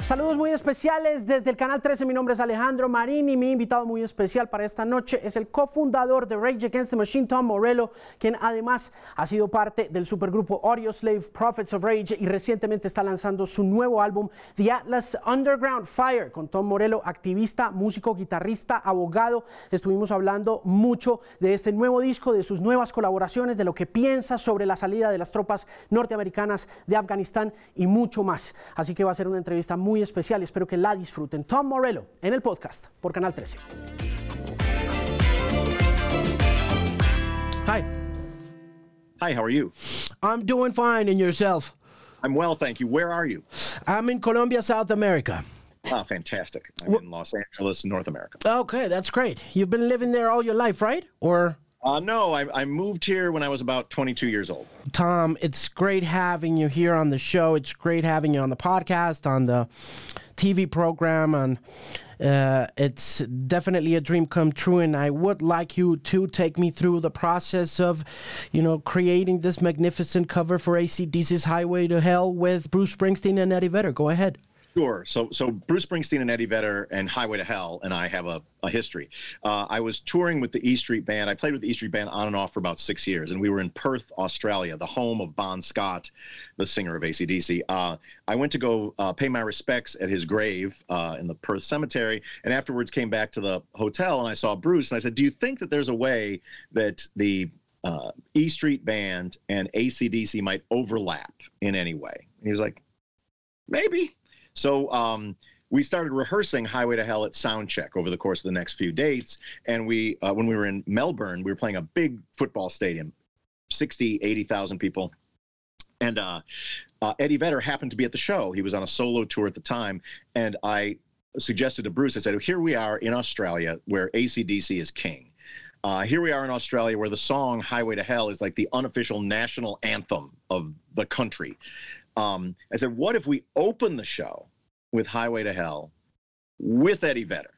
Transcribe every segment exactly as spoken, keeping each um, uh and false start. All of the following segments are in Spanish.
Saludos muy especiales desde el Canal trece. Mi nombre es Alejandro Marín y mi invitado muy especial para esta noche es el cofundador de Rage Against the Machine, Tom Morello, quien además ha sido parte del supergrupo Audioslave, Prophets of Rage, y recientemente está lanzando su nuevo álbum The Atlas Underground Fire. Con Tom Morello, activista, músico, guitarrista, abogado, estuvimos hablando mucho de este nuevo disco, de sus nuevas colaboraciones, de lo que piensa sobre la salida de las tropas norteamericanas de Afganistán y mucho más. Así que va a ser una entrevista muy muy especial, espero que la disfruten. Tom Morello en el podcast por Canal trece. Hi. Hi, how are you? I'm doing fine, and yourself? I'm well, thank you. Where are you? I'm in Colombia, South America. Oh, fantastic. I'm in Los Angeles, North America. Okay, that's great. You've been living there all your life, right? Or... Uh, no, I, I moved here when I was about twenty-two years old. Tom, it's great having you here on the show. It's great having you on the podcast, on the T V program, and uh, it's definitely a dream come true. And I would like you to take me through the process of, you know, creating this magnificent cover for A C D C's Highway to Hell with Bruce Springsteen and Eddie Vedder. Go ahead. Sure. So, so Bruce Springsteen and Eddie Vedder and Highway to Hell and I have a, a history. Uh, I was touring with the E Street Band. I played with the E Street Band on and off for about six years, and we were in Perth, Australia, the home of Bon Scott, the singer of A C D C. Uh, I went to go uh, pay my respects at his grave uh, in the Perth cemetery, and afterwards came back to the hotel, and I saw Bruce, and I said, do you think that there's a way that the uh, E Street Band and A C D C might overlap in any way? And he was like, maybe. So um, we started rehearsing Highway to Hell at Soundcheck over the course of the next few dates. And we, uh, when we were in Melbourne, we were playing a big football stadium, sixty, eighty thousand people. And uh, uh, Eddie Vedder happened to be at the show. He was on a solo tour at the time. And I suggested to Bruce, I said, here we are in Australia where A C D C is king. Uh, here we are in Australia where the song Highway to Hell is like the unofficial national anthem of the country. Um, I said, what if we open the show with Highway to Hell with Eddie Vedder?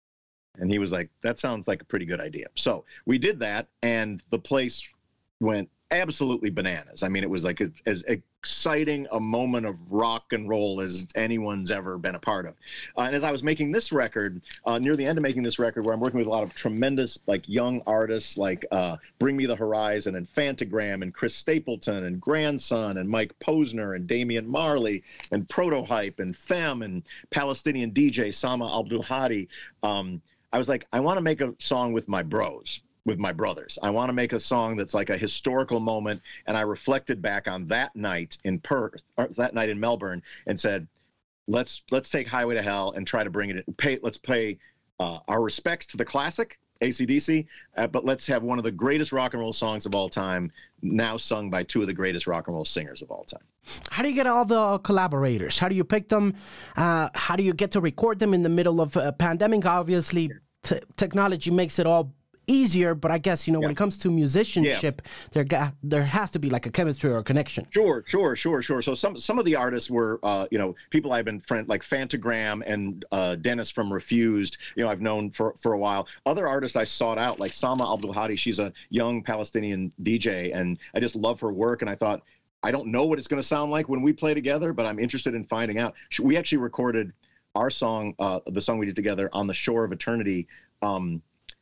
And he was like, that sounds like a pretty good idea. So we did that, and the place went absolutely bananas. I mean, it was like a, as exciting a moment of rock and roll as anyone's ever been a part of. Uh, and as I was making this record, uh, near the end of making this record, where I'm working with a lot of tremendous, like, young artists like uh, Bring Me the Horizon and Fantagram and Chris Stapleton and Grandson and Mike Posner and Damian Marley and Protohype and Femme and Palestinian D J Sama Abdul Hadi, um, I was like, I want to make a song with my bros. with my brothers. I want to make a song that's like a historical moment. And I reflected back on that night in Perth, or that night in Melbourne, and said, let's let's take Highway to Hell and try to bring it in. Pay, let's pay uh, our respects to the classic, A C D C, uh, but let's have one of the greatest rock and roll songs of all time, now sung by two of the greatest rock and roll singers of all time. How do you get all the collaborators? How do you pick them? Uh, how do you get to record them in the middle of a pandemic? Obviously, t- technology makes it all easier, but I guess, you know, yeah. when it comes to musicianship, yeah. there ga- there has to be like a chemistry or a connection. Sure, sure, sure, sure. So some some of the artists were, uh, you know, people I've been friend like Fantagram and uh, Dennis from Refused. You know, I've known for for a while. Other artists I sought out, like Sama Abdul Hadi. She's a young Palestinian D J, and I just love her work. And I thought, I don't know what it's going to sound like when we play together, but I'm interested in finding out. We actually recorded our song, uh, the song we did together, on the Shore of Eternity. Um,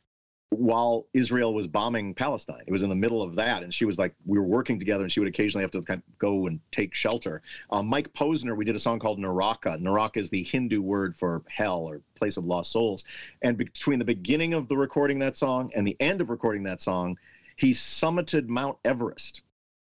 while Israel was bombing Palestine. It was in the middle of that, and she was like, we were working together, and she would occasionally have to kind of go and take shelter. Um, Mike Posner, we did a song called Naraka. Naraka is the Hindu word for hell or place of lost souls. And between the beginning of the recording that song and the end of recording that song, he summited Mount Everest.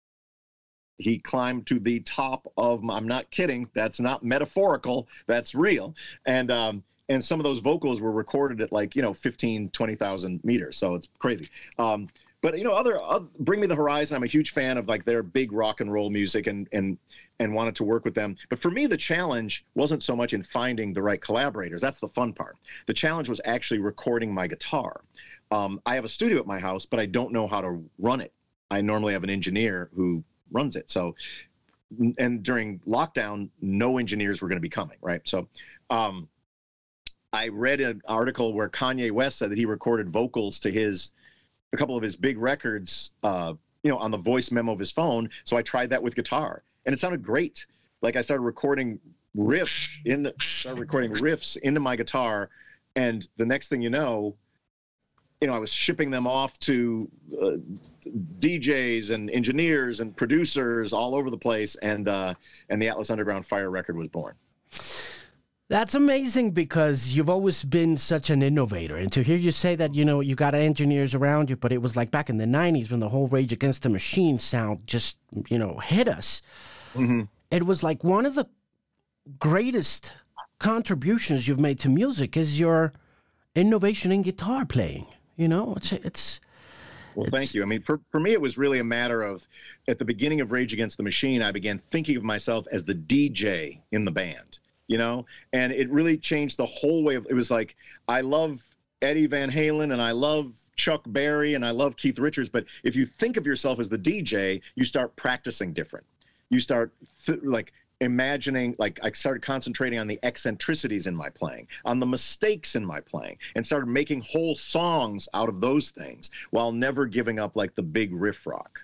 He climbed to the top of, I'm not kidding, that's not metaphorical, that's real. And um, And some of those vocals were recorded at like, you know, fifteen, twenty thousand meters. So it's crazy. Um, but, you know, other, uh, Bring Me the Horizon, I'm a huge fan of like their big rock and roll music and, and, and wanted to work with them. But for me, the challenge wasn't so much in finding the right collaborators. That's the fun part. The challenge was actually recording my guitar. Um, I have a studio at my house, but I don't know how to run it. I normally have an engineer who runs it. So, and during lockdown, no engineers were going to be coming, right? So, um, I read an article where Kanye West said that he recorded vocals to his, a couple of his big records, uh, you know, on the voice memo of his phone. So I tried that with guitar, and it sounded great. Like I started recording riffs in, started recording riffs into my guitar, and the next thing you know, you know, I was shipping them off to uh, D Js and engineers and producers all over the place, and uh, and the Atlas Underground Fire record was born. That's amazing, because you've always been such an innovator. And to hear you say that, you know, you got engineers around you, but it was like back in the nineties when the whole Rage Against the Machine sound just, you know, hit us. Mm-hmm. It was like one of the greatest contributions you've made to music is your innovation in guitar playing. You know, it's it's. Well, it's, thank you. I mean, for, for me, it was really a matter of, at the beginning of Rage Against the Machine, I began thinking of myself as the D J in the band, you know, and it really changed the whole way of, it was like, I love Eddie Van Halen and I love Chuck Berry and I love Keith Richards, but if you think of yourself as the D J, you start practicing different. You start th- like imagining, like I started concentrating on the eccentricities in my playing, on the mistakes in my playing, and started making whole songs out of those things while never giving up like the big riff rock.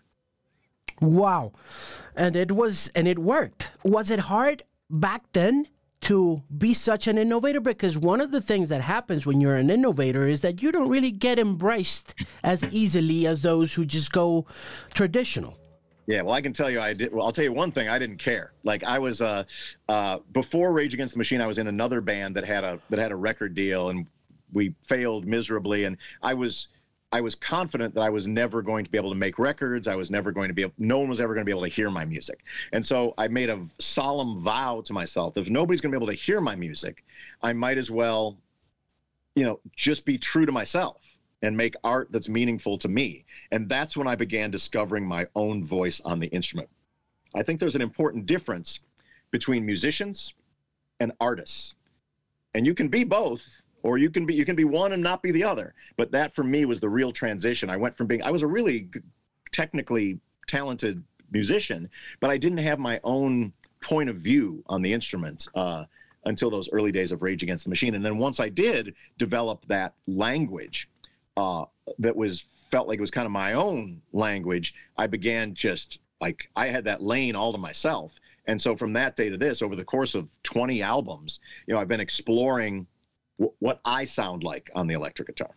Wow. And it was, and it worked. Was it hard back then to be such an innovator? Because one of the things that happens when you're an innovator is that you don't really get embraced as easily as those who just go traditional. Yeah, well, I can tell you, I did. Well, I'll tell you one thing. I didn't care. Like I was, uh, uh, before Rage Against the Machine, I was in another band that had a that had a record deal, and we failed miserably. And I was, I was confident that I was never going to be able to make records. I was never going to be. Able, no one was ever going to be able to hear my music. And so I made a solemn vow to myself: if nobody's going to be able to hear my music, I might as well, you know, just be true to myself and make art that's meaningful to me. And that's when I began discovering my own voice on the instrument. I think there's an important difference between musicians and artists. And you can be both, or you can be you can be one and not be the other. But that for me was the real transition. I went from being I was a really technically talented musician, but I didn't have my own point of view on the instruments uh, until those early days of Rage Against the Machine. And then once I did develop that language, Uh, that was felt like it was kind of my own language, I began just like I had that lane all to myself. And so from that day to this, over the course of twenty albums, you know, I've been exploring w- what I sound like on the electric guitar.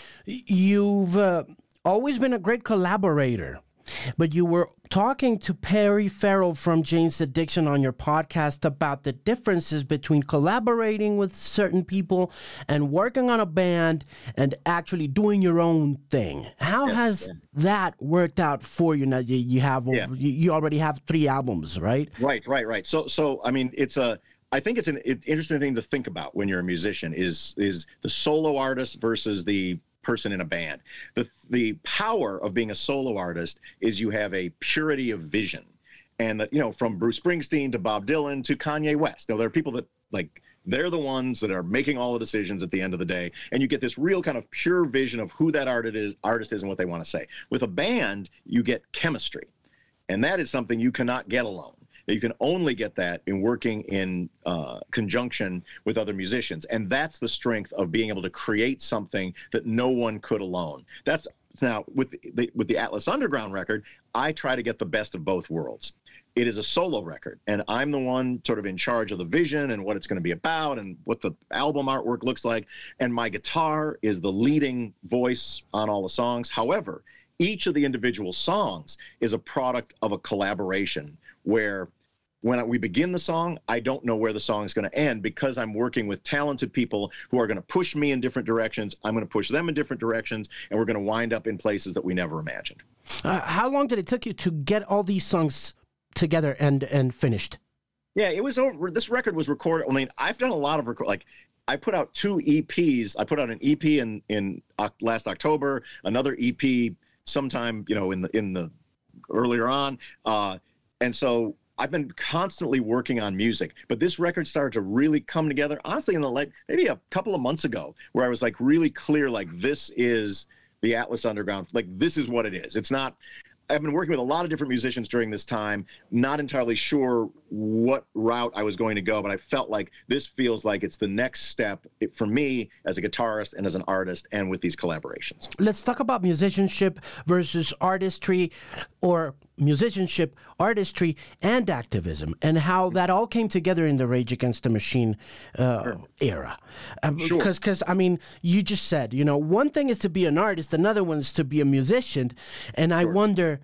You've uh, always been a great collaborator, but you were talking to Perry Farrell from Jane's Addiction on your podcast about the differences between collaborating with certain people and working on a band and actually doing your own thing. How yes, has yeah. that worked out for you? Now you, you have Yeah. you, you already have three albums, right? Right, right, right. So, so I mean, it's a. I think it's an interesting thing to think about when you're a musician. Is is the solo artist versus the person in a band. The the power of being a solo artist is you have a purity of vision. And that, you know, from Bruce Springsteen to Bob Dylan to Kanye West. You know, there are people that like they're the ones that are making all the decisions at the end of the day. And you get this real kind of pure vision of who that artist is, artist is and what they want to say. With a band, you get chemistry. And that is something you cannot get alone. You can only get that in working in uh, conjunction with other musicians. And that's the strength of being able to create something that no one could alone. That's now with the, with the Atlas Underground record, I try to get the best of both worlds. It is a solo record, and I'm the one sort of in charge of the vision and what it's going to be about and what the album artwork looks like. And my guitar is the leading voice on all the songs. However, each of the individual songs is a product of a collaboration where when we begin the song, I don't know where the song is going to end because I'm working with talented people who are going to push me in different directions. I'm going to push them in different directions, and we're going to wind up in places that we never imagined. Uh, how long did it take you to get all these songs together and, and finished? Yeah, it was over. This record was recorded. I mean, I've done a lot of record, like I put out two E Ps. I put out an E P in, in uh, last October, another E P sometime, you know, in the, in the earlier on. Uh, and so I've been constantly working on music, but this record started to really come together, honestly, in the like maybe a couple of months ago, where I was like really clear, like this is the Atlas Underground, like this is what it is. It's not, I've been working with a lot of different musicians during this time, not entirely sure what route I was going to go, but I felt like this feels like it's the next step for me as a guitarist and as an artist and with these collaborations. Let's talk about musicianship versus artistry, or musicianship, artistry, and activism, and how that all came together in the Rage Against the Machine uh, sure. era. Um, sure. Because, I mean, you just said, you know, one thing is to be an artist, another one is to be a musician, and I sure. wonder,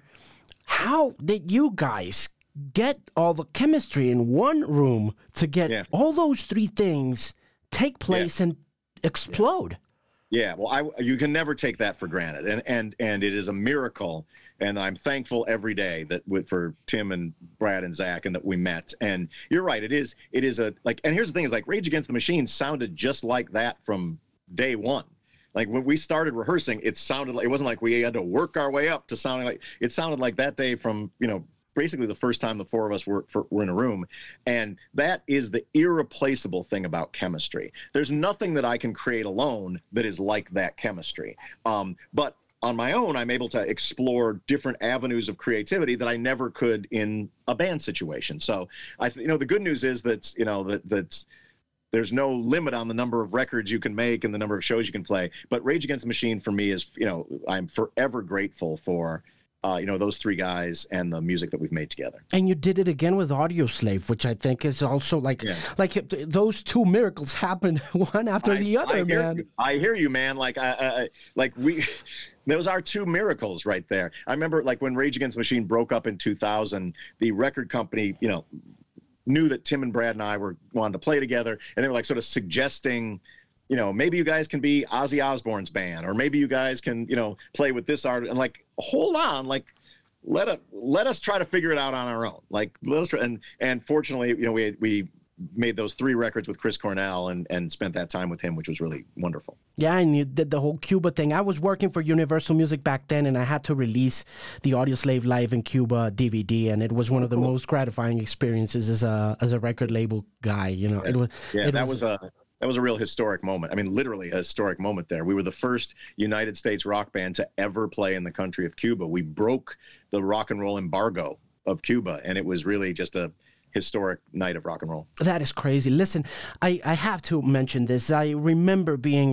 how did you guys get all the chemistry in one room to get yeah. all those three things take place yeah. and explode? Yeah. yeah, well, I, you can never take that for granted, and and and it is a miracle, and I'm thankful every day that with, for Tim and Brad and Zach, and that we met. And you're right, it is it is a like. And here's the thing: is like Rage Against the Machine sounded just like that from day one. Like when we started rehearsing, it sounded like it wasn't like we had to work our way up to sounding like it sounded like that day from you know. basically the first time the four of us were, for, were in a room. And that is the irreplaceable thing about chemistry. There's nothing that I can create alone that is like that chemistry. Um, but on my own, I'm able to explore different avenues of creativity that I never could in a band situation. So I, you know, the good news is that, you know, that, that there's no limit on the number of records you can make and the number of shows you can play. But Rage Against the Machine for me is, you know, I'm forever grateful for Uh, you know, those three guys and the music that we've made together. And you did it again with Audioslave, which I think is also like, yeah. like those two miracles happened one after I, the other, I hear man. You. I hear you, man. Like, I, I, like we, those are two miracles right there. I remember, like, when Rage Against the Machine broke up in two thousand, the record company, you know, knew that Tim and Brad and I were wanted to play together, and they were like sort of suggesting, you know, maybe you guys can be Ozzy Osbourne's band, or maybe you guys can, you know, play with this art. And like, hold on, like, let us let us try to figure it out on our own. Like, let us try. And and fortunately, you know, we we made those three records with Chris Cornell and and spent that time with him, which was really wonderful. Yeah, and you did the whole Cuba thing. I was working for Universal Music back then, and I had to release the Audioslave Live in Cuba D V D, and it was one of the cool. most gratifying experiences as a as a record label guy. You know, yeah. it was. Yeah, it that was, was a. That was a real historic moment. I mean, literally a historic moment there. We were the first United States rock band to ever play in the country of Cuba. We broke the rock and roll embargo of Cuba, and it was really just a historic night of rock and roll. That is crazy. Listen, I, I have to mention this. I remember being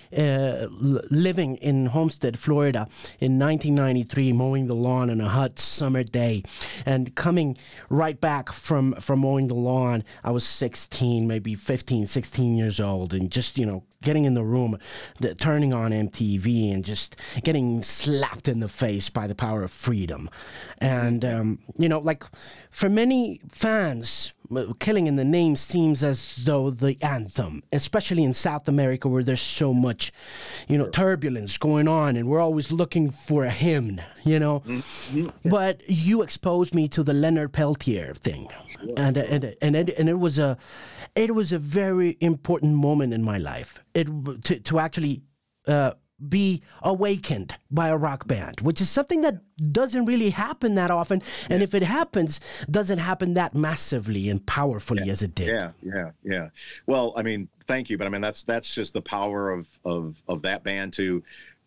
uh, living in Homestead, Florida in nineteen ninety-three, mowing the lawn on a hot summer day, and coming right back from, from mowing the lawn. I was sixteen, maybe fifteen, sixteen years old, and just, you know, getting in the room, the, turning on M T V, and just getting slapped in the face by the power of freedom. And, um, you know, like, for many fans, Killing in the Name seems as though the anthem, especially in South America where there's so much, you know, turbulence going on, and we're always looking for a hymn, you know. Mm-hmm. But you exposed me to the Leonard Peltier thing, and and and it, and it was a, it was a very important moment in my life. It to to actually. Uh, be awakened by a rock band, which is something that doesn't really happen that often. And yeah. if it happens, doesn't happen that massively and powerfully yeah. as it did. Yeah, yeah, yeah. Well, I mean, thank you. But I mean, that's that's just the power of of of that band to,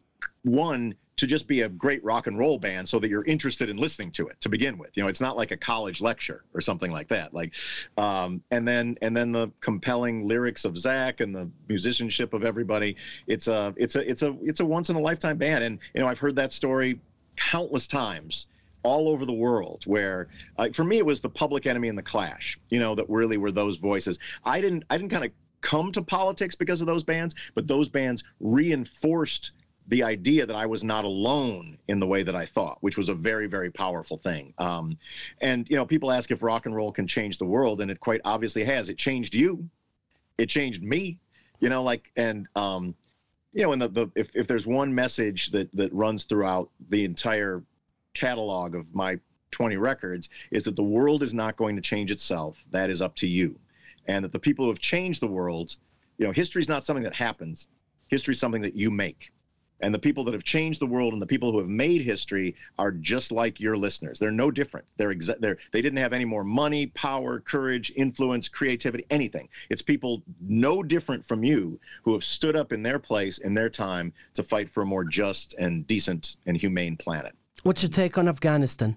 one, to just be a great rock and roll band so that you're interested in listening to it to begin with. You know, it's not like a college lecture or something like that. Like, um, and then and then the compelling lyrics of Zach and the musicianship of everybody. It's a it's a it's a it's a once in a lifetime band. And you know, I've heard that story countless times all over the world, where uh, for me it was the Public Enemy and the Clash. You know, that really were those voices. I didn't I didn't kind of come to politics because of those bands, but those bands reinforced the idea that I was not alone in the way that I thought, which was a very, very powerful thing. Um, and, you know, people ask if rock and roll can change the world, and it quite obviously has. It changed you. It changed me, you know, like, and, um, you know, and the, the if, if there's one message that, that runs throughout the entire catalog of my twenty records, is that the world is not going to change itself. That is up to you. And that the people who have changed the world, you know, history is not something that happens. History is something that you make. And the people that have changed the world and the people who have made history are just like your listeners. They're no different. They're exa- they're, they didn't have any more money, power, courage, influence, creativity, anything. It's people no different from you who have stood up in their place, in their time, to fight for a more just and decent and humane planet. What's your take on Afghanistan?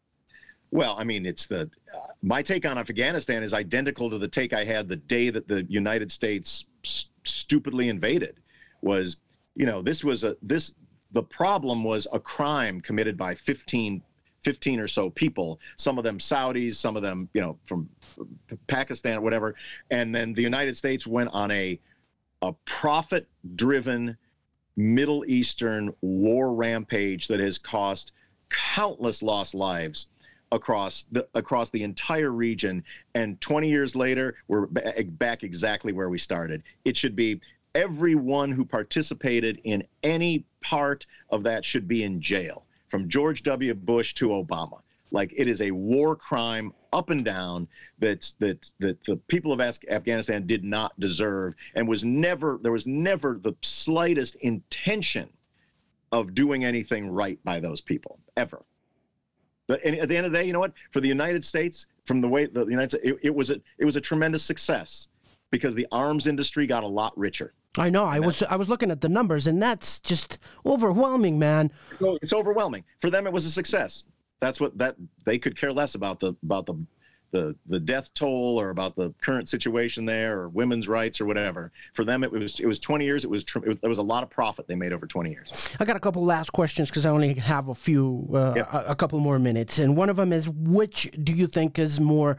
Well, I mean, it's the uh, my take on Afghanistan is identical to the take I had the day that the United States st- stupidly invaded. Was You know, this was a this the problem was a crime committed by fifteen fifteen or so people, some of them Saudis, some of them, you know, from Pakistan, whatever. And then the United States went on a, a profit-driven Middle Eastern war rampage that has cost countless lost lives across the across the entire region. And twenty years later, we're back exactly where we started. It should be everyone who participated in any part of that should be in jail, from George W. Bush to Obama. Like, it is a war crime up and down that that that the people of Afghanistan did not deserve, and was never there was never the slightest intention of doing anything right by those people, ever. But at the end of the day, you know what? For the United States, from the way the United States, it, it was a it was a tremendous success, because the arms industry got a lot richer. I know. I was I was looking at the numbers, and that's just overwhelming, man. So it's overwhelming. For them, it was a success. That's what that they could care less about the about the the the death toll, or about the current situation there, or women's rights, or whatever. For them, it was it was twenty years. It was it was, there was a lot of profit they made over twenty years. I got a couple last questions, because I only have a few, uh, yep. a, a couple more minutes, and one of them is, which do you think is more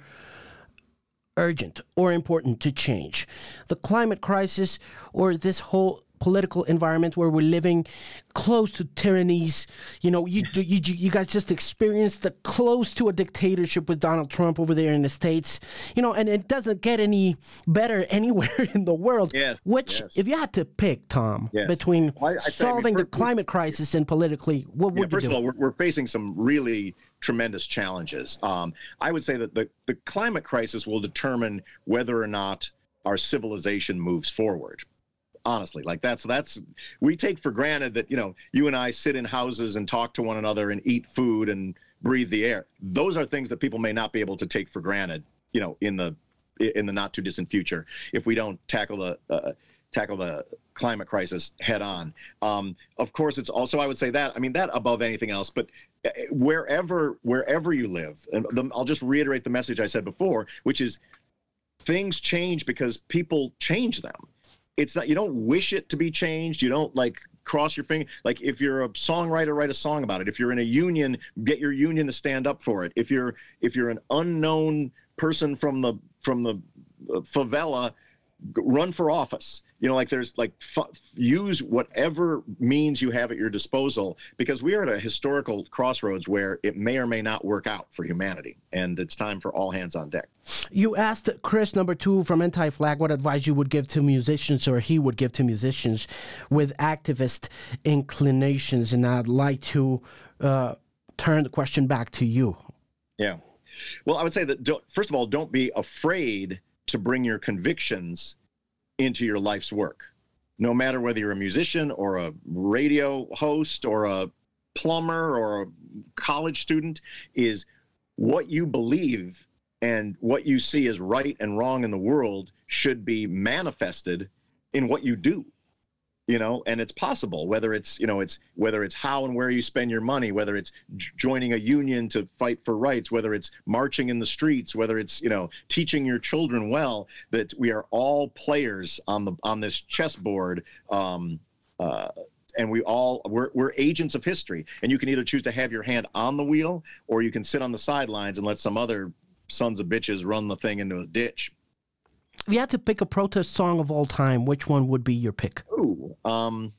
urgent or important to change, the climate crisis or this whole political environment where we're living close to tyrannies? You know, you you you guys just experienced the close to a dictatorship with Donald Trump over there in the States. You know, and it doesn't get any better anywhere in the world. Yes, Which, yes. if you had to pick, Tom, yes. between well, I, I solving I mean, the climate crisis and politically, what would yeah, you first do? of all, we're, we're facing some really tremendous challenges. Um, I would say that the, the climate crisis will determine whether or not our civilization moves forward. Honestly, like that's that's we take for granted that, you know, you and I sit in houses and talk to one another and eat food and breathe the air. Those are things that people may not be able to take for granted, you know, in the in the not too distant future, if we don't tackle the uh, tackle the climate crisis head on. Um, of course, it's also, I would say that, I mean, that above anything else, but wherever wherever you live, and the, I'll just reiterate the message I said before, which is things change because people change them. It's not, you don't wish it to be changed. You don't like cross your finger. Like, if you're a songwriter, write a song about it. If you're in a union, get your union to stand up for it. If you're if you're an unknown person from the from the favela, run for office. You know, like there's like f- use whatever means you have at your disposal, because we are at a historical crossroads where it may or may not work out for humanity, and it's time for all hands on deck. You asked Chris, number two from Anti-Flag, what advice you would give to musicians, or he would give to musicians with activist inclinations, and I'd like to uh, turn the question back to you. Yeah. Well, I would say that, don't, first of all, don't be afraid to bring your convictions into your life's work, no matter whether you're a musician or a radio host or a plumber or a college student. Is what you believe and what you see as right and wrong in the world should be manifested in what you do. You know, and it's possible, whether it's, you know, it's whether it's how and where you spend your money, whether it's j- joining a union to fight for rights, whether it's marching in the streets, whether it's, you know, teaching your children well, that we are all players on the on this chessboard. Um, uh, and we all we're, we're agents of history, and you can either choose to have your hand on the wheel, or you can sit on the sidelines and let some other sons of bitches run the thing into a ditch. If you had to pick a protest song of all time, which one would be your pick? Ooh, um,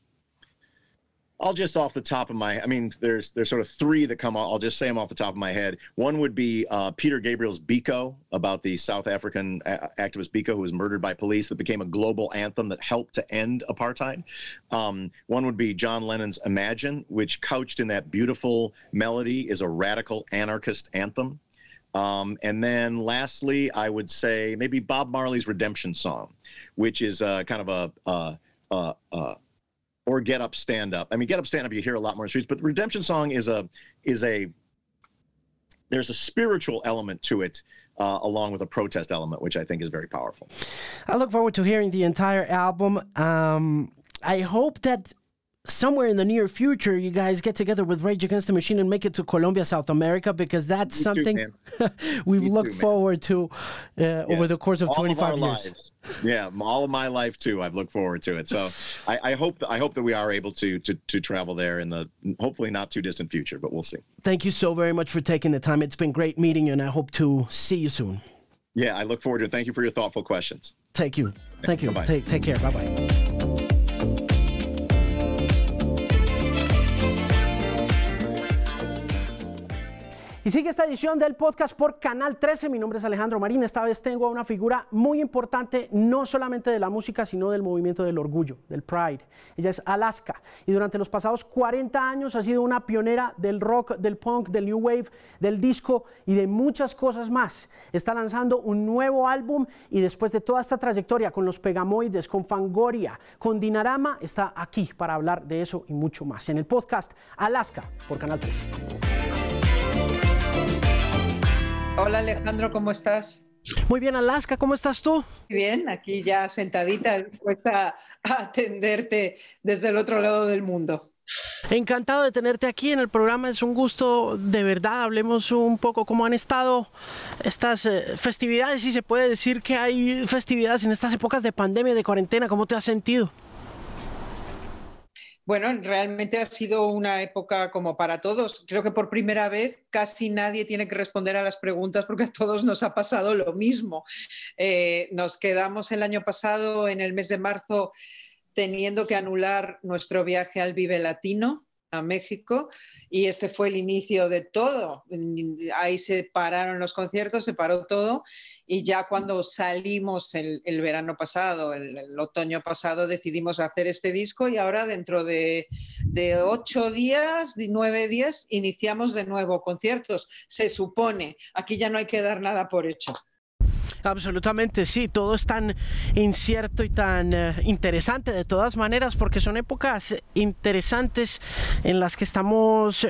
I'll just off the top of my, I mean, there's there's sort of three that come out. I'll just say them off the top of my head. One would be uh, Peter Gabriel's Biko, about the South African a- activist Biko, who was murdered by police, that became a global anthem that helped to end apartheid. Um, one would be John Lennon's Imagine, which, couched in that beautiful melody, is a radical anarchist anthem. Um, and then lastly, I would say maybe Bob Marley's Redemption Song, which is uh, kind of a, uh, uh, uh, or Get Up, Stand Up. I mean, Get Up, Stand Up, you hear a lot more in the streets, but the Redemption Song is a, is a, there's a spiritual element to it, uh, along with a protest element, which I think is very powerful. I look forward to hearing the entire album. Um, I hope that somewhere in the near future, you guys get together with Rage Against the Machine and make it to Colombia, South America, because that's Me something too, we've Me looked too, forward to uh, yeah. over the course of all twenty-five of years. Lives. Yeah, all of my life too. I've looked forward to it. So I, I hope I hope that we are able to, to to travel there in the hopefully not too distant future, but we'll see. Thank you so very much for taking the time. It's been great meeting you, and I hope to see you soon. Yeah, I look forward to it. Thank you for your thoughtful questions. Thank you. Thank you. Bye-bye. Take take care. Bye bye. Y sigue esta edición del podcast por Canal trece. Mi nombre es Alejandro Marín. Esta vez tengo a una figura muy importante, no solamente de la música, sino del movimiento del orgullo, del Pride. Ella es Alaska y durante los pasados cuarenta años ha sido una pionera del rock, del punk, del new wave, del disco y de muchas cosas más. Está lanzando un nuevo álbum y después de toda esta trayectoria con los Pegamoides, con Fangoria, con Dinarama, está aquí para hablar de eso y mucho más en el podcast Alaska por Canal trece. Hola Alejandro, ¿cómo estás? Muy bien, Alaska, ¿cómo estás tú? Bien, aquí ya sentadita, dispuesta a atenderte desde el otro lado del mundo. Encantado de tenerte aquí en el programa, es un gusto, de verdad. Hablemos un poco cómo han estado estas eh, festividades, si se puede decir que hay festividades en estas épocas de pandemia, de cuarentena. ¿Cómo te has sentido? Bueno, realmente ha sido una época como para todos. Creo que por primera vez casi nadie tiene que responder a las preguntas porque a todos nos ha pasado lo mismo. Eh, nos quedamos el año pasado, en el mes de marzo, teniendo que anular nuestro viaje al Vive Latino, a México, y ese fue el inicio de todo. Ahí se pararon los conciertos, se paró todo, y ya cuando salimos el, el verano pasado, el, el otoño pasado, decidimos hacer este disco y ahora dentro de, de ocho días, nueve días, iniciamos de nuevo conciertos. Se supone, aquí ya no hay que dar nada por hecho. Absolutamente, sí, todo es tan incierto y tan uh, interesante de todas maneras, porque son épocas interesantes en las que estamos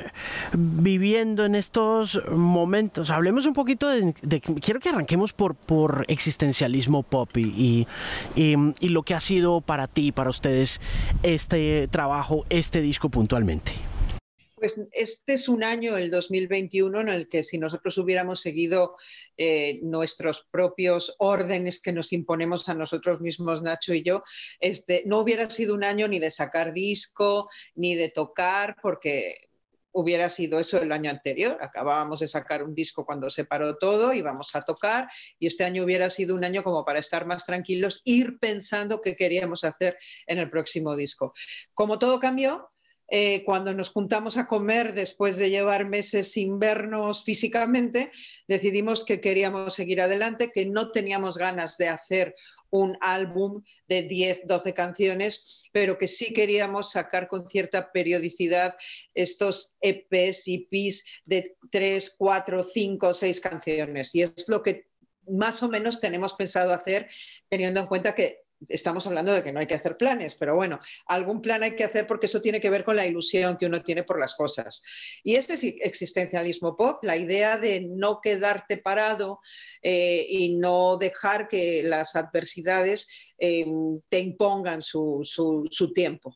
viviendo en estos momentos. Hablemos un poquito de, de quiero que arranquemos por, por existencialismo pop y, y, y lo que ha sido para ti y para ustedes este trabajo, este disco puntualmente. Pues este es un año, el dos mil veintiuno, en el que si nosotros hubiéramos seguido eh, nuestros propios órdenes que nos imponemos a nosotros mismos, Nacho y yo, este, no hubiera sido un año ni de sacar disco, ni de tocar, porque hubiera sido eso el año anterior. Acabábamos de sacar un disco cuando se paró todo, íbamos a tocar, y este año hubiera sido un año como para estar más tranquilos, ir pensando qué queríamos hacer en el próximo disco. Como todo cambió, Eh, cuando nos juntamos a comer después de llevar meses sin vernos físicamente, decidimos que queríamos seguir adelante, que no teníamos ganas de hacer un álbum de diez, doce canciones, pero que sí queríamos sacar con cierta periodicidad estos E Pes y Pis de tres, cuatro, cinco, seis canciones. Y es lo que más o menos tenemos pensado hacer, teniendo en cuenta que estamos hablando de que no hay que hacer planes, pero bueno, algún plan hay que hacer porque eso tiene que ver con la ilusión que uno tiene por las cosas. Y este es existencialismo pop, la idea de no quedarte parado eh, y no dejar que las adversidades eh, te impongan su, su, su tiempo.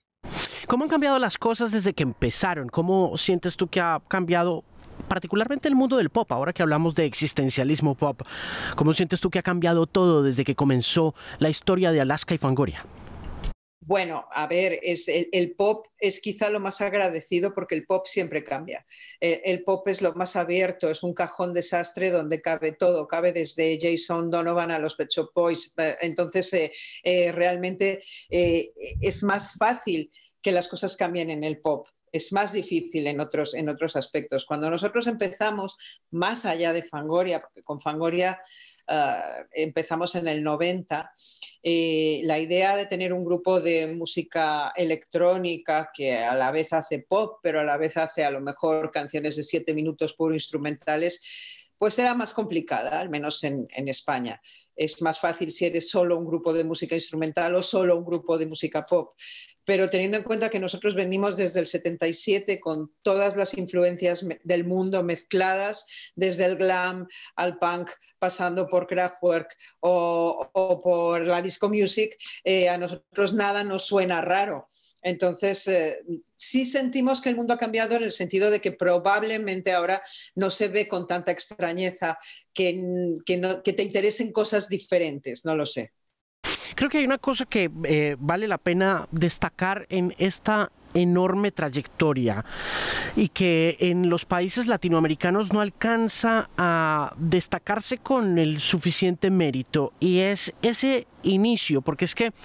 ¿Cómo han cambiado las cosas desde que empezaron? ¿Cómo sientes tú que ha cambiado particularmente el mundo del pop, ahora que hablamos de existencialismo pop? ¿Cómo sientes tú que ha cambiado todo desde que comenzó la historia de Alaska y Fangoria? Bueno, a ver, es el, el pop es quizá lo más agradecido porque el pop siempre cambia. El, el pop es lo más abierto, es un cajón desastre donde cabe todo, cabe desde Jason Donovan a los Pet Shop Boys. Entonces, eh, eh, realmente eh, es más fácil que las cosas cambien en el pop. Es más difícil en otros, en otros aspectos. Cuando nosotros empezamos, más allá de Fangoria, porque con Fangoria uh, empezamos en el noventa, eh, la idea de tener un grupo de música electrónica que a la vez hace pop, pero a la vez hace a lo mejor canciones de siete minutos puro instrumentales, pues era más complicada, al menos en, en España. es más fácil si eres solo un grupo de música instrumental o solo un grupo de música pop. Pero teniendo en cuenta que nosotros venimos desde el setenta y siete con todas las influencias del mundo mezcladas, desde el glam al punk, pasando por Kraftwerk o, o por la disco music, eh, a nosotros nada nos suena raro. Entonces, eh, sí sentimos que el mundo ha cambiado en el sentido de que probablemente ahora no se ve con tanta extrañeza que, que, no, que te interesen cosas diferentes, no lo sé. Creo que hay una cosa que eh, vale la pena destacar en esta enorme trayectoria y que en los países latinoamericanos no alcanza a destacarse con el suficiente mérito, y es ese inicio, porque es que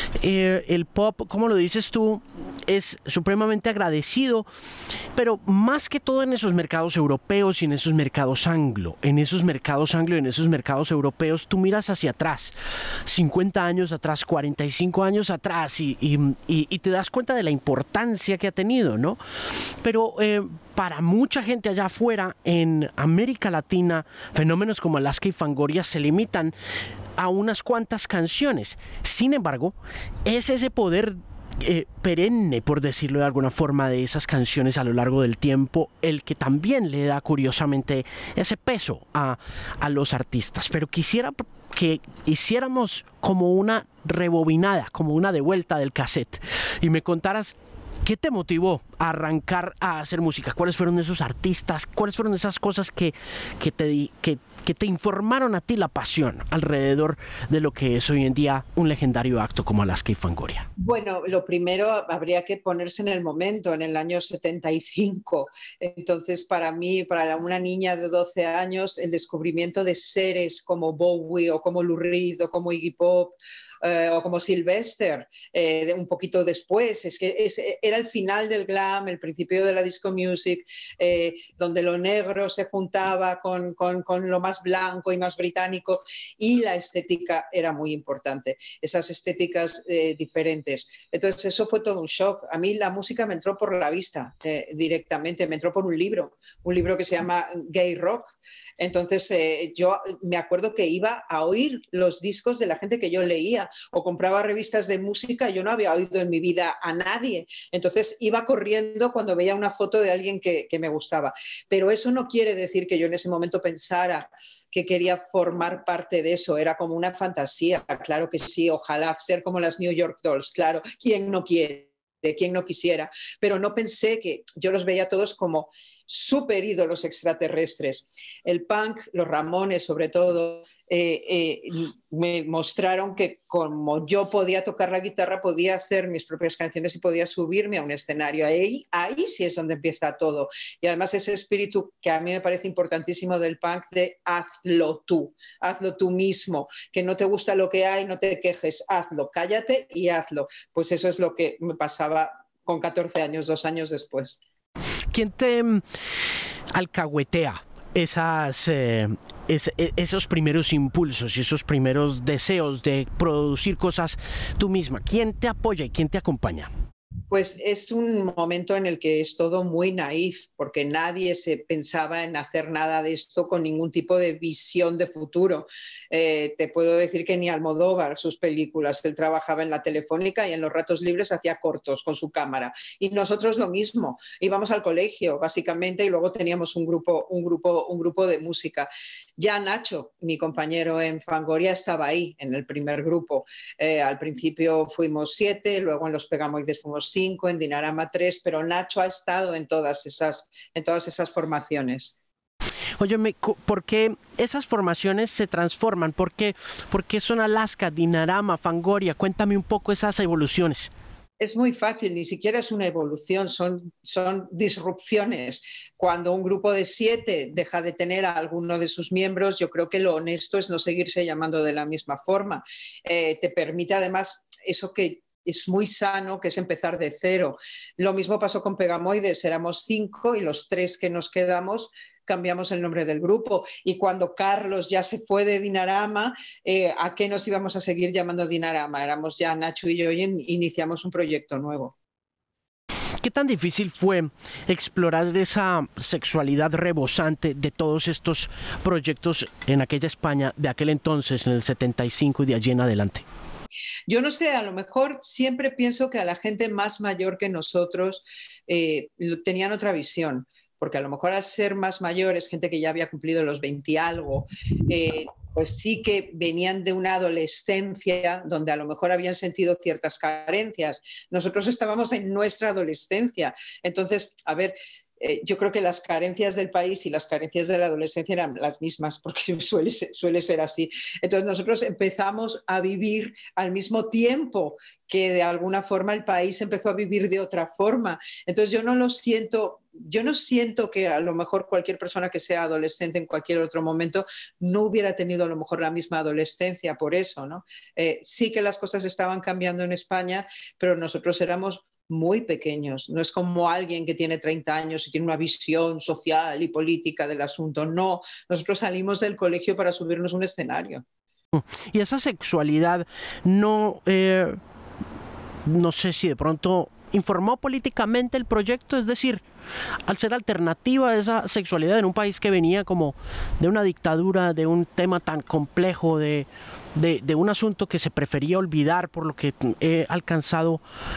eh, el pop, como lo dices tú, es supremamente agradecido, pero más que todo en esos mercados europeos y en esos mercados anglo, en esos mercados anglo y en esos mercados europeos, tú miras hacia atrás, cincuenta años atrás, cuarenta y cinco años atrás, y, y, y, y te das cuenta de la importancia que ha tenido, ¿no? Pero eh, para mucha gente allá afuera, en América Latina, fenómenos como Alaska y Fangoria se limitan a unas cuantas canciones. Sin embargo, es ese poder Eh, perenne, por decirlo de alguna forma, de esas canciones a lo largo del tiempo, el que también le da curiosamente ese peso a, a los artistas. Pero quisiera que hiciéramos como una rebobinada, como una devuelta del cassette, y me contaras ¿qué te motivó a arrancar a hacer música? ¿Cuáles fueron esos artistas? ¿Cuáles fueron esas cosas que, que, te, que, que te informaron a ti la pasión alrededor de lo que es hoy en día un legendario acto como Alaska y Fangoria? Bueno, lo primero habría que ponerse en el momento, en el año setenta y cinco. Entonces, para mí, para una niña de doce años, el descubrimiento de seres como Bowie o como Lou Reed o como Iggy Pop, Eh, o como Sylvester, eh, un poquito después. Es que es, era el final del glam, el principio de la disco music, eh, donde lo negro se juntaba con, con, con lo más blanco y más británico, y la estética era muy importante, esas estéticas eh, diferentes. Entonces eso fue todo un shock. A mí la música me entró por la vista eh, directamente, me entró por un libro, un libro que se llama Gay Rock. Entonces eh, yo me acuerdo que iba a oír los discos de la gente que yo leía, o compraba revistas de música. Yo no había oído en mi vida a nadie, entonces iba corriendo cuando veía una foto de alguien que, que me gustaba. Pero eso no quiere decir que yo en ese momento pensara que quería formar parte de eso, era como una fantasía. Claro que sí, ojalá ser como las New York Dolls, claro, ¿quién no quiere? De quien no quisiera, pero no pensé que yo los veía todos como súper ídolos extraterrestres. El punk, los Ramones sobre todo, eh, eh, me mostraron que como yo podía tocar la guitarra, podía hacer mis propias canciones y podía subirme a un escenario. Ahí, ahí sí es donde empieza todo. Y además ese espíritu que a mí me parece importantísimo del punk, de hazlo tú, hazlo tú mismo, que no te gusta lo que hay, no te quejes, hazlo, cállate y hazlo. Pues eso es lo que me pasaba con catorce años, dos años después. ¿Quién te alcahuetea esas, eh, es, esos primeros impulsos y esos primeros deseos de producir cosas tú misma? ¿Quién te apoya y quién te acompaña? Pues es un momento en el que es todo muy naif, porque nadie se pensaba en hacer nada de esto con ningún tipo de visión de futuro. Eh, te puedo decir que ni Almodóvar, sus películas, él trabajaba en la Telefónica y en los ratos libres hacía cortos con su cámara. Y nosotros lo mismo, íbamos al colegio básicamente y luego teníamos un grupo, un grupo, un grupo de música. Ya Nacho, mi compañero en Fangoria, estaba ahí en el primer grupo. Eh, al principio fuimos siete, luego en Los Pegamoides fuimos cinco, en Dinarama tres, pero Nacho ha estado en todas esas, en todas esas formaciones. Óyeme, ¿por qué esas formaciones se transforman? ¿Por qué, por qué son Alaska, Dinarama, Fangoria? Cuéntame un poco esas evoluciones. Es muy fácil, ni siquiera es una evolución, son, son disrupciones. Cuando un grupo de siete deja de tener a alguno de sus miembros, yo creo que lo honesto es no seguirse llamando de la misma forma. Eh, te permite además eso que es muy sano, que es empezar de cero. Lo mismo pasó con Pegamoides, éramos cinco y los tres que nos quedamos cambiamos el nombre del grupo. Y cuando Carlos ya se fue de Dinarama, eh, ¿a qué nos íbamos a seguir llamando Dinarama? Éramos ya Nacho y yo y iniciamos un proyecto nuevo. ¿Qué tan difícil fue explorar esa sexualidad rebosante de todos estos proyectos en aquella España de aquel entonces, en el setenta y cinco y de allí en adelante? Yo no sé, a lo mejor siempre pienso que a la gente más mayor que nosotros eh, tenían otra visión, porque a lo mejor al ser más mayores, gente que ya había cumplido los veinte y algo, eh, pues sí que venían de una adolescencia donde a lo mejor habían sentido ciertas carencias. Nosotros estábamos en nuestra adolescencia. Entonces, a ver, eh, yo creo que las carencias del país y las carencias de la adolescencia eran las mismas, porque suele ser, suele ser así. Entonces nosotros empezamos a vivir al mismo tiempo que de alguna forma el país empezó a vivir de otra forma. Entonces yo no lo siento... Yo no siento que a lo mejor cualquier persona que sea adolescente en cualquier otro momento no hubiera tenido a lo mejor la misma adolescencia por eso, ¿no? Eh, sí que las cosas estaban cambiando en España, pero nosotros éramos muy pequeños. No es como alguien que tiene treinta años y tiene una visión social y política del asunto. No, nosotros salimos del colegio para subirnos a un escenario. Y esa sexualidad no, eh, no sé si de pronto informó políticamente el proyecto, es decir, al ser alternativa a esa sexualidad en un país que venía como de una dictadura, de un tema tan complejo, de, de, de un asunto que se prefería olvidar por lo que he alcanzado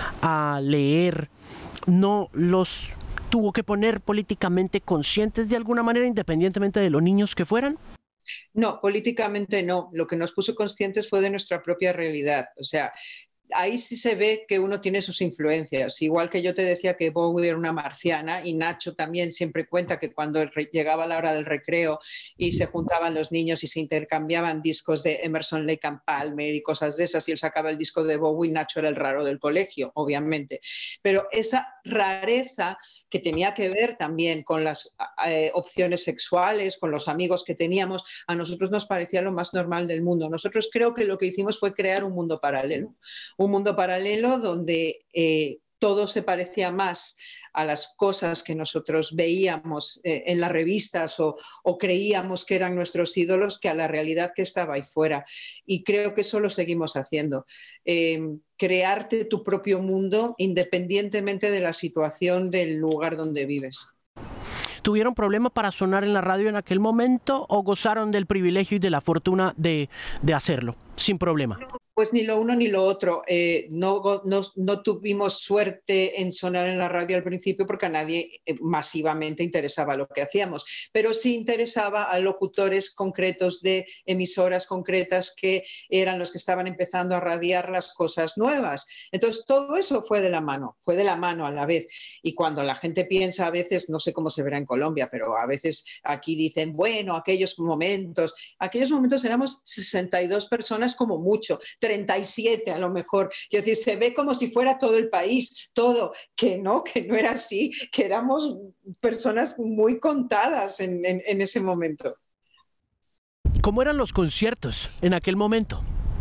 a leer, ¿no los tuvo que poner políticamente conscientes de alguna manera, independientemente de los niños que fueran? No, políticamente no. Lo que nos puso conscientes fue de nuestra propia realidad. O sea, ahí sí se ve que uno tiene sus influencias. Igual que yo te decía que Bowie era una marciana, y Nacho también siempre cuenta que cuando llegaba la hora del recreo y se juntaban los niños y se intercambiaban discos de Emerson, Lake and Palmer y cosas de esas, y él sacaba el disco de Bowie, Nacho era el raro del colegio, obviamente. Pero esa rareza que tenía que ver también con las eh, opciones sexuales, con los amigos que teníamos, a nosotros nos parecía lo más normal del mundo. Nosotros creo que lo que hicimos fue crear un mundo paralelo. Un mundo paralelo donde eh, todo se parecía más a las cosas que nosotros veíamos eh, en las revistas o, o creíamos que eran nuestros ídolos, que a la realidad que estaba ahí fuera. Y creo que eso lo seguimos haciendo. Eh, crearte tu propio mundo independientemente de la situación del lugar donde vives. ¿Tuvieron problema para sonar en la radio en aquel momento o gozaron del privilegio y de la fortuna de, de hacerlo sin problema? Pues ni lo uno ni lo otro. Eh, no, no, no tuvimos suerte en sonar en la radio al principio porque a nadie masivamente interesaba lo que hacíamos, pero sí interesaba a locutores concretos de emisoras concretas que eran los que estaban empezando a radiar las cosas nuevas. Entonces todo eso fue de la mano, fue de la mano a la vez. Y cuando la gente piensa a veces, no sé cómo se verá en Colombia, pero a veces aquí dicen, bueno, aquellos momentos, aquellos momentos éramos sesenta y dos personas como mucho, treinta y siete a lo mejor. Quiero decir, se ve como si fuera todo el país, todo, que no, que no era así, que éramos personas muy contadas en, en, en ese momento. ¿Cómo eran los conciertos en aquel momento?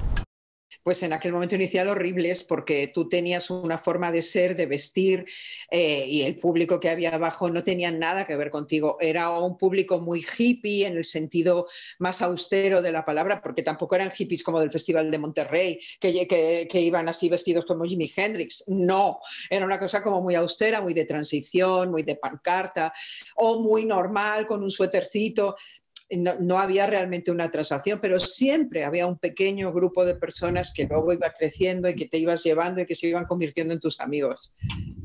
Pues en aquel momento inicial horribles, porque tú tenías una forma de ser, de vestir, eh, y el público que había abajo no tenía nada que ver contigo. Era un público muy hippie en el sentido más austero de la palabra, porque tampoco eran hippies como del Festival de Monterrey, que, que, que iban así vestidos como Jimi Hendrix. No, era una cosa como muy austera, muy de transición, muy de pancarta, o muy normal, con un suétercito. No, no había realmente una transacción, pero siempre había un pequeño grupo de personas que luego iba creciendo y que te ibas llevando y que se iban convirtiendo en tus amigos.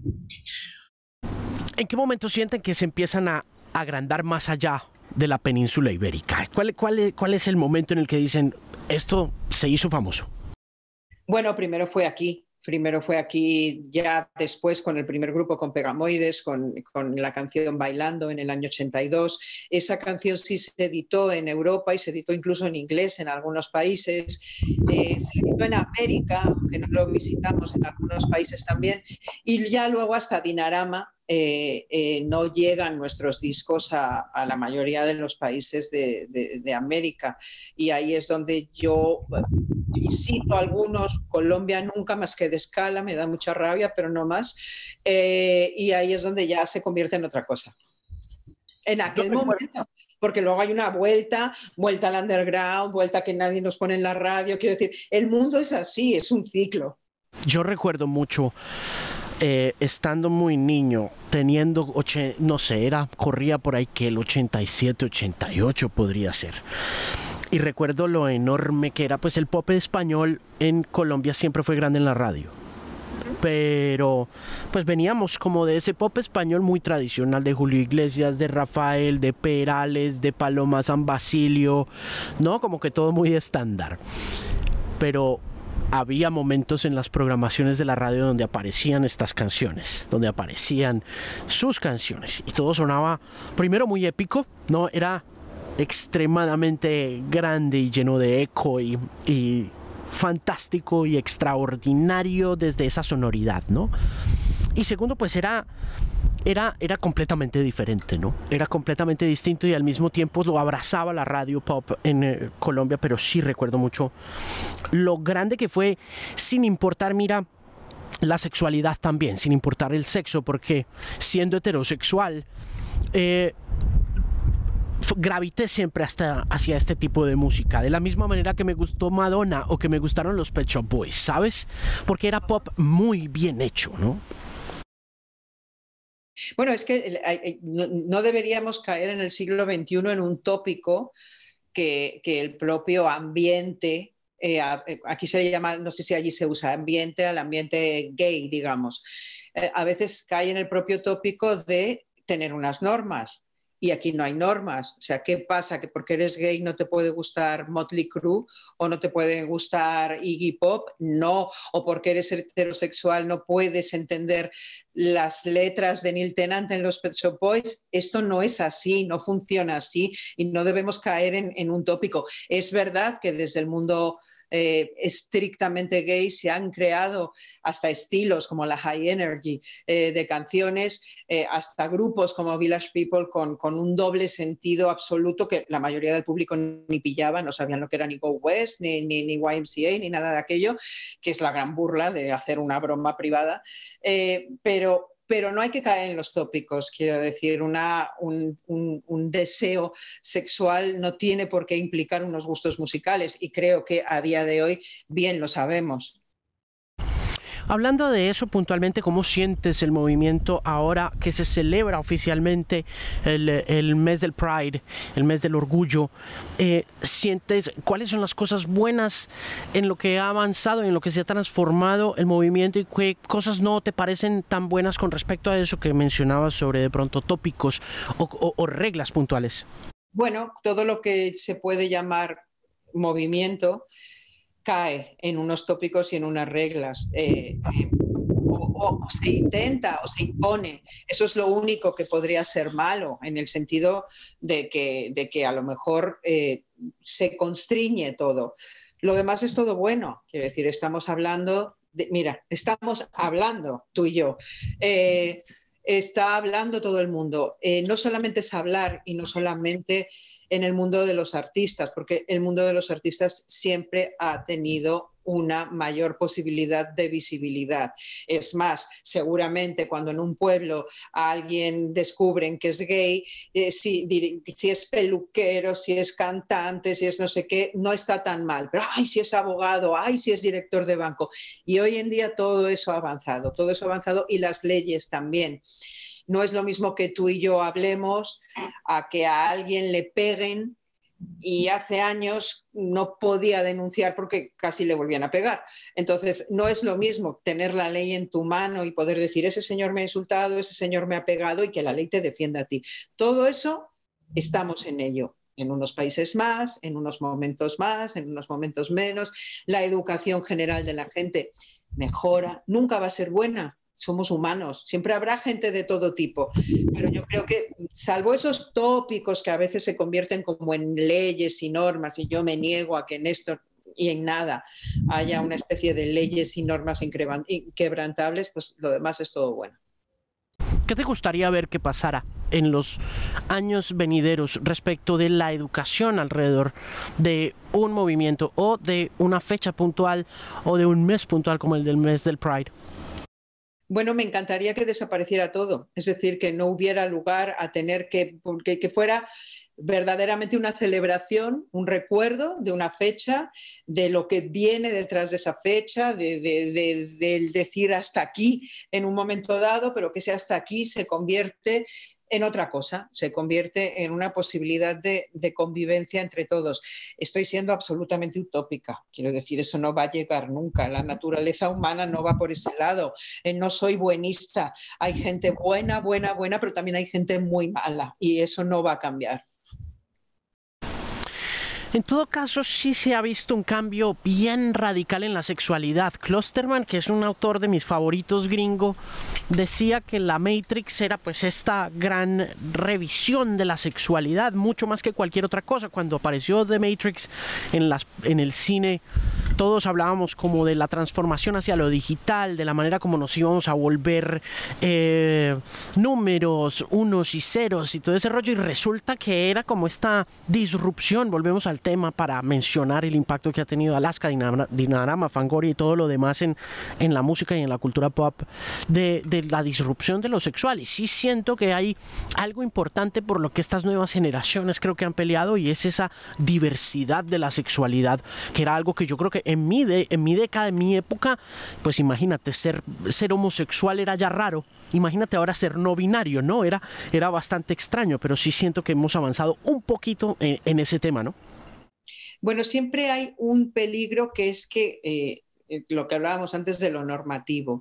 ¿En qué momento sienten que se empiezan a agrandar más allá de la península ibérica? ¿Cuál, cuál, cuál es el momento en el que dicen, esto se hizo famoso? Bueno, primero fue aquí. Primero fue aquí, ya después con el primer grupo, con Pegamoides, con, con la canción Bailando en el año ochenta y dos. Esa canción sí se editó en Europa y se editó incluso en inglés en algunos países. Eh, se editó en América, aunque no lo visitamos, en algunos países también. Y ya luego hasta Dinarama eh, eh, no llegan nuestros discos a, a la mayoría de los países de, de, de América. Y ahí es donde yo visito algunos, Colombia nunca más que de escala, me da mucha rabia, pero no más. Eh, y ahí es donde ya se convierte en otra cosa. En aquel momento, porque luego hay una vuelta, vuelta al underground, vuelta que nadie nos pone en la radio. Quiero decir, el mundo es así, es un ciclo. Yo recuerdo mucho eh, estando muy niño, teniendo, oche, no sé, era, corría por ahí que el ochenta y siete, ochenta y ocho podría ser. Y recuerdo lo enorme que era, pues el pop español en Colombia siempre fue grande en la radio. Pero pues veníamos como de ese pop español muy tradicional, de Julio Iglesias, de Rafael, de Perales, de Paloma San Basilio, ¿no? Como que todo muy estándar. Pero había momentos en las programaciones de la radio donde aparecían estas canciones, donde aparecían sus canciones, y todo sonaba primero muy épico, ¿no? Era extremadamente grande y lleno de eco y, y fantástico y extraordinario desde esa sonoridad, ¿no? Y segundo, pues era, era, era completamente diferente, ¿no? Era completamente distinto, y al mismo tiempo lo abrazaba la radio pop en eh, Colombia. Pero sí recuerdo mucho lo grande que fue, sin importar, mira, la sexualidad también, sin importar el sexo, porque siendo heterosexual, eh, gravité siempre hasta hacia este tipo de música, de la misma manera que me gustó Madonna o que me gustaron los Pet Shop Boys, ¿sabes? Porque era pop muy bien hecho, ¿no? Bueno, es que no deberíamos caer en el siglo veintiuno en un tópico que, que el propio ambiente, eh, aquí se le llama, no sé si allí se usa, ambiente al ambiente gay, digamos, eh, a veces cae en el propio tópico de tener unas normas. Y aquí no hay normas. O sea, ¿qué pasa? ¿Que porque eres gay no te puede gustar Motley Crue o no te puede gustar Iggy Pop? No. ¿O porque eres heterosexual no puedes entender las letras de Neil Tennant en los Pet Shop Boys? Esto no es así, no funciona así, y no debemos caer en, en un tópico. Es verdad que desde el mundo Eh, estrictamente gay se han creado hasta estilos como la high energy eh, de canciones, eh, hasta grupos como Village People con, con un doble sentido absoluto que la mayoría del público ni pillaba, no sabían lo que era ni Go West, ni, ni, ni Y M C A, ni nada de aquello, que es la gran burla de hacer una broma privada, eh, pero Pero no hay que caer en los tópicos, quiero decir, una, un, un, un deseo sexual no tiene por qué implicar unos gustos musicales, y creo que a día de hoy bien lo sabemos. Hablando de eso puntualmente, ¿cómo sientes el movimiento ahora que se celebra oficialmente el, el mes del Pride, el mes del orgullo? Eh, ¿Sientes cuáles son las cosas buenas en lo que ha avanzado, en lo que se ha transformado el movimiento, y qué cosas no te parecen tan buenas con respecto a eso que mencionabas sobre de pronto tópicos o, o, o reglas puntuales? Bueno, todo lo que se puede llamar movimiento cae en unos tópicos y en unas reglas, eh, eh, o, o se intenta o se impone. Eso es lo único que podría ser malo, en el sentido de que, de que a lo mejor eh, se constriñe todo. Lo demás es todo bueno, quiero decir, estamos hablando, de, mira, estamos hablando tú y yo, eh, está hablando todo el mundo, eh, no solamente es hablar, y no solamente en el mundo de los artistas, porque el mundo de los artistas siempre ha tenido una mayor posibilidad de visibilidad. Es más, seguramente cuando en un pueblo a alguien descubren que es gay, eh, si, si es peluquero, si es cantante, si es no sé qué, no está tan mal. Pero ay, si es abogado, ay, si es director de banco. Y hoy en día todo eso ha avanzado, todo eso ha avanzado, y las leyes también. No es lo mismo que tú y yo hablemos a que a alguien le peguen, y hace años no podía denunciar porque casi le volvían a pegar. Entonces, no es lo mismo tener la ley en tu mano y poder decir, ese señor me ha insultado, ese señor me ha pegado, y que la ley te defienda a ti. Todo eso estamos en ello. En unos países más, en unos momentos más, en unos momentos menos. La educación general de la gente mejora, nunca va a ser buena. Somos humanos, siempre habrá gente de todo tipo, pero yo creo que, salvo esos tópicos que a veces se convierten como en leyes y normas, y yo me niego a que en esto y en nada haya una especie de leyes y normas inquebrantables, pues lo demás es todo bueno. ¿Qué te gustaría ver que pasara en los años venideros respecto de la educación alrededor de un movimiento, o de una fecha puntual, o de un mes puntual como el del mes del Pride? Bueno, me encantaría que desapareciera todo, es decir, que no hubiera lugar a tener que, que, que fuera verdaderamente una celebración, un recuerdo de una fecha, de lo que viene detrás de esa fecha, de, de, de, de decir hasta aquí en un momento dado, pero que ese hasta aquí se convierte en otra cosa, se convierte en una posibilidad de, de convivencia entre todos. Estoy siendo absolutamente utópica, quiero decir, eso no va a llegar nunca, la naturaleza humana no va por ese lado, eh, no soy buenista, hay gente buena, buena, buena, pero también hay gente muy mala y eso no va a cambiar. En todo caso, sí se ha visto un cambio bien radical en la sexualidad. Klosterman, que es un autor de mis favoritos gringo, decía que la Matrix era pues esta gran revisión de la sexualidad, mucho más que cualquier otra cosa. Cuando apareció The Matrix en, las, en el cine, todos hablábamos como de la transformación hacia lo digital, de la manera como nos íbamos a volver eh, números, unos y ceros y todo ese rollo, y resulta que era como esta disrupción. Volvemos al tema para mencionar el impacto que ha tenido Alaska, Dinarama, Fangoria y todo lo demás en, en la música y en la cultura pop de, de la disrupción de lo sexual. Y sí siento que hay algo importante por lo que estas nuevas generaciones creo que han peleado, y es esa diversidad de la sexualidad, que era algo que yo creo que en mi, de, en mi década, en mi época, pues imagínate, ser, ser homosexual era ya raro. Imagínate ahora ser no binario, ¿no? Era, era bastante extraño, pero sí siento que hemos avanzado un poquito en, en ese tema, ¿no? Bueno, siempre hay un peligro, que es que eh, lo que hablábamos antes de lo normativo.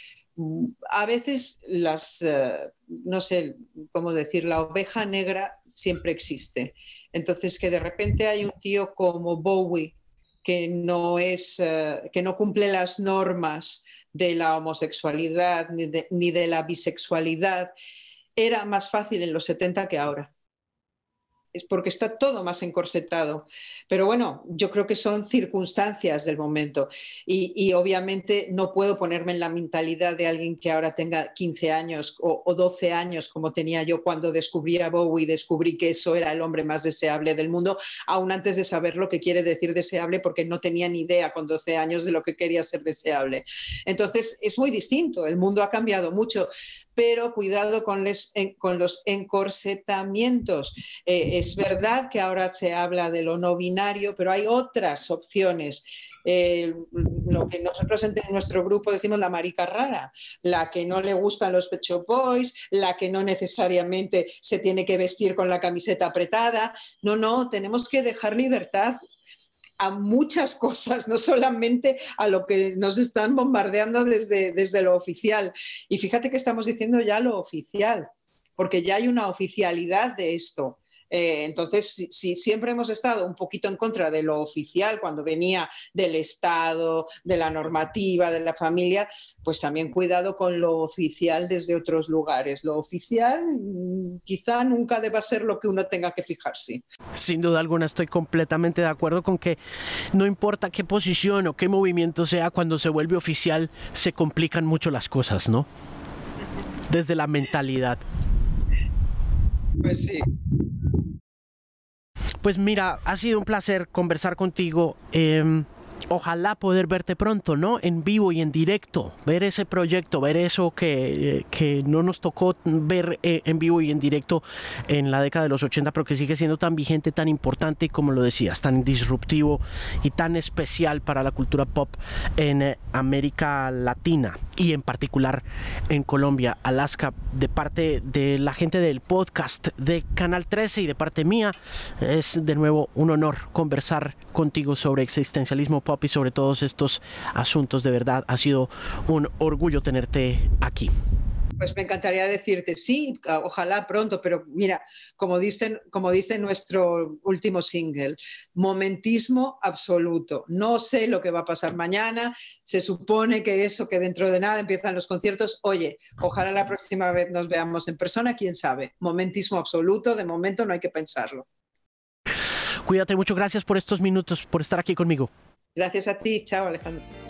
A veces las, uh, no sé cómo decir, la oveja negra siempre existe. Entonces, que de repente hay un tío como Bowie que no, es, uh, que no cumple las normas de la homosexualidad ni de, ni de la bisexualidad, era más fácil en los setenta que ahora. Es porque está todo más encorsetado. Pero bueno, yo creo que son circunstancias del momento y, y obviamente no puedo ponerme en la mentalidad de alguien que ahora tenga quince años o, o doce años, como tenía yo cuando descubrí a Bowie y descubrí que eso era el hombre más deseable del mundo, aún antes de saber lo que quiere decir deseable, porque no tenía ni idea con doce años de lo que quería ser deseable. Entonces es muy distinto, el mundo ha cambiado mucho, pero cuidado con, les, en, con los encorsetamientos. Eh, Es verdad que ahora se habla de lo no binario, pero hay otras opciones. Eh, lo que nosotros en nuestro grupo decimos la marica rara, la que no le gustan los Pet Shop Boys, la que no necesariamente se tiene que vestir con la camiseta apretada. No, no, tenemos que dejar libertad a muchas cosas, no solamente a lo que nos están bombardeando desde, desde lo oficial. Y fíjate que estamos diciendo ya lo oficial, porque ya hay una oficialidad de esto. Eh, entonces, si, si siempre hemos estado un poquito en contra de lo oficial, cuando venía del Estado, de la normativa, de la familia, pues también cuidado con lo oficial desde otros lugares. Lo oficial quizá nunca deba ser lo que uno tenga que fijarse. Sin duda alguna estoy completamente de acuerdo con que no importa qué posición o qué movimiento sea, cuando se vuelve oficial se complican mucho las cosas, ¿no? Desde la mentalidad. Pues sí. Pues mira, ha sido un placer conversar contigo. Eh, ojalá poder verte pronto, ¿no? En vivo y en directo, ver ese proyecto, ver eso que, que no nos tocó ver eh, en vivo y en directo en la década de los ochenta, pero que sigue siendo tan vigente, tan importante y, como lo decías, tan disruptivo y tan especial para la cultura pop en eh, América Latina y en particular en Colombia. Alaska, de parte de la gente del podcast de Canal trece y de parte mía, es de nuevo un honor conversar contigo sobre existencialismo pop y sobre todos estos asuntos. De verdad, ha sido un orgullo tenerte aquí. Pues me encantaría decirte sí, ojalá pronto, pero mira, como dice, como dice nuestro último single, momentismo absoluto. No sé lo que va a pasar mañana, se supone que eso, que dentro de nada empiezan los conciertos. Oye, ojalá la próxima vez nos veamos en persona, quién sabe. Momentismo absoluto, de momento no hay que pensarlo. Cuídate mucho, gracias por estos minutos, por estar aquí conmigo. Gracias a ti, chao Alejandro.